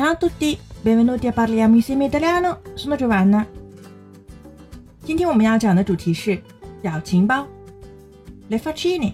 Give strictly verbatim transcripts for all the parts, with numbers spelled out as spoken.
Ciao a tutti, benvenuti a Parliamo Insieme Italiano, sono Giovanna。今天我们要讲的主题是表情包 Le faccine。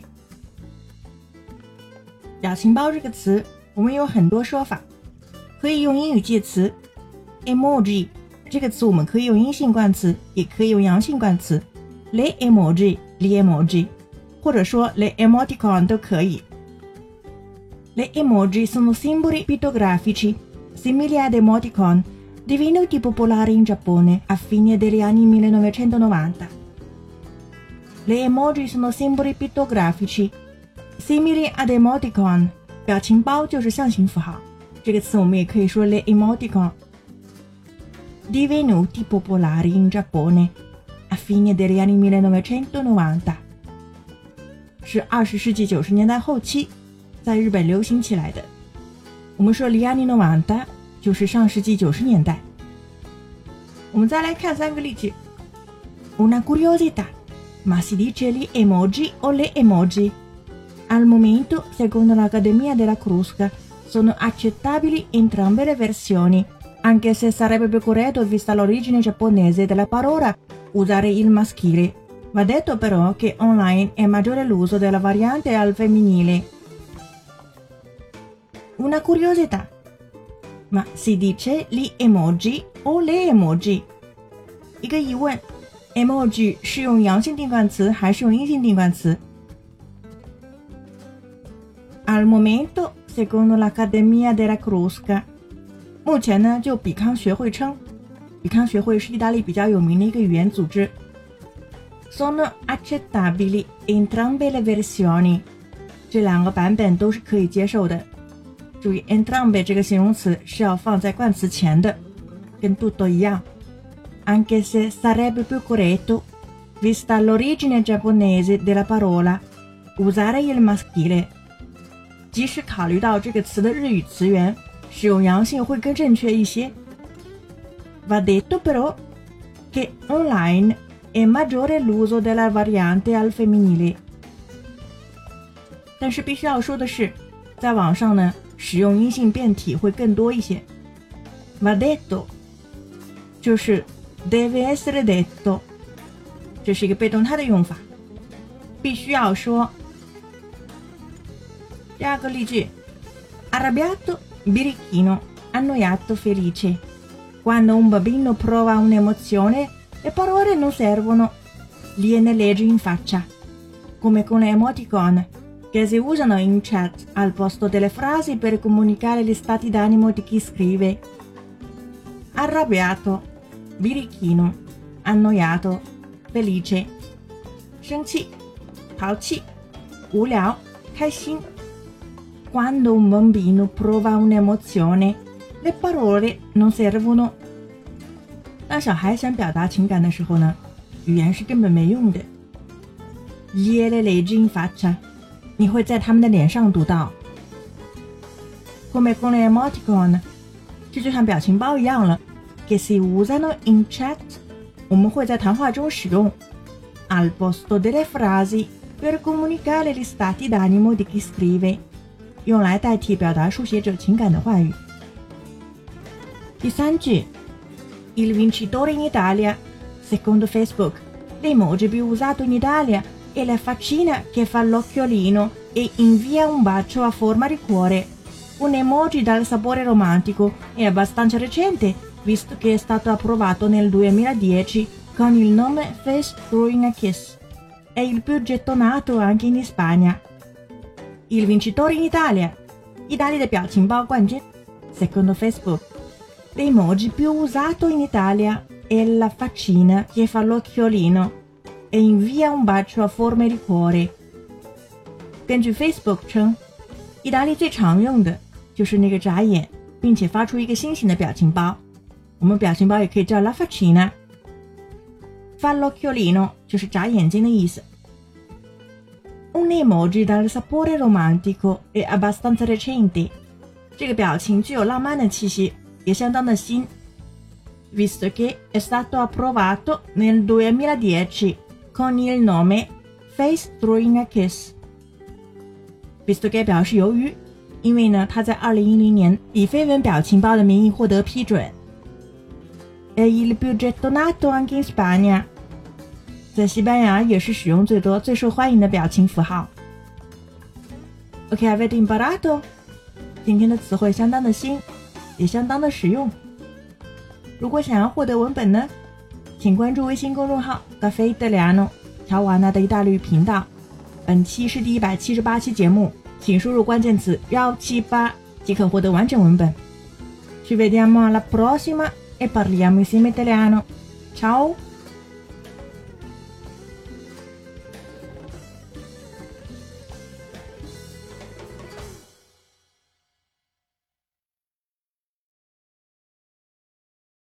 表情包这个词我们有很多说法，可以用英语介词 emoji， 这个词我们可以用阴性冠词，也可以用阳性冠词 Le emoji, gli emoji， 或者说 Le emoticon 都可以。 Le emoji sono simboli pittografici simili ad emoticon divenuti popolari in Giappone a fine degli anni millenovecentonovanta. Le emoji sono simboli pittografici simili ad emoticon， 表情包就是象形符号，这个词我们也可以说 le emoticon。 Divenuti popolari in Giappone a fine degli anni millenovecentonovanta， 是二十世纪九十年代后期在日本流行起来的。我们说 gli anni novanta 就是上世纪九十年代。我们再来看三个例句。 Una curiosità, ma si dice gli emoji o le emoji? Al momento, secondo l'Accademia della Crusca, sono accettabili entrambe le versioni, anche se sarebbe più corretto, vista l'origine giapponese della parola, usare il maschile. Va detto però che online è maggiore l'uso della variante al femminile. Una curiosità, ma si dice gli emoji o le emoji? 一个疑问， emoji 是用阳性定冠词还是用阴性定冠词？ Al momento, secondo l'Accademia della Crusca， 目前呢，就比康学会称，比康学会是意大利比较有名的一个语言组织。Sono accettabili entrambe le versioni， 这两个版本都是可以接受的。注意 entrambe 这个形容词是要放在冠词前的，跟 tutto 一样。Anche se sarebbe più corretto, vista l'origine giapponese della parola, usare il maschile。 即使考虑到这个词的日语词源，使用阳性会更正确一些。Va detto però che online è maggiore l'uso della variante al femminile。 但是必须要说的是，在网上呢，使用阴性变体会更多一些。Va detto 就是 deve essere detto， 这是一个被动态的用法，必须要说。第二个例句 Arrabbiato, birichino, annoiato, felice. Quando un bambino prova un'emozione, le parole non servono, gliene leggi in faccia, come con le emoticon, che si usano in chat al posto delle frasi per comunicare gli stati d'animo di chi scrive. Arrabbiato, birichino, annoiato, felice. 生气、淘气、无聊、开心。Quando un bambino prova un'emozione, le parole non servono。 当小孩想表达情感的时候呢，语言是根本没用的。Gliene leggi in faccia， 你会在他们的脸上读到。Come con le emoticon， 这就像表情包一样了。Che si usano in chat， 我们会在谈话中使用。Al posto delle frasi per comunicare gli stati d'animo di chi scrive， 用来代替表达书写者情感的话语。第三句 Il vincitore in Italia, secondo Facebook, l'emoji più usato in Italia è la faccina che fa l'occhiolino e invia un bacio a forma di cuore. Un emoji dal sapore romantico è abbastanza recente, visto che è stato approvato nel duemiladieci con il nome Face Throwing a Kiss. È il più gettonato anche in Spagna. Il vincitore in Italia， 意大利的表情包冠军。Secondo Facebook， l'emoji più usato in Italia è la faccina che fa l'occhiolino e invia un bacio a forma di cuore。 根据 Facebook 称，意大利最常用的就是那个眨眼并且发出一个心形的表情包。我们表情包也可以叫 la faccina。 Fa l'occhiolino 就是眨眼睛的意思。Un emoji dal sapore romantico è abbastanza recente， 这个表情具有浪漫的气息，也相当的新。Visto che è stato approvato nel duemiladieci con il nome Face Throwing a Kiss。 Visto che 表示由于， 因为呢，它在二零一零年以绯闻表情包的名义获得批准。È il più gettonato anche in Spagna， 在西班牙也是使用最多、最受欢迎的表情符号。Ok, avete imparato？ 今天的词汇相当的新，也相当的实用。如果想要获得文本呢，请关注微信公众号 Caffè Italiano 乔瓦纳的意大利语频道。本期是第一百七十八期节目，请输入关键词一七八即可获得完整文本。Ci vediamo alla prossima e parliamo insieme italiano. Ciao!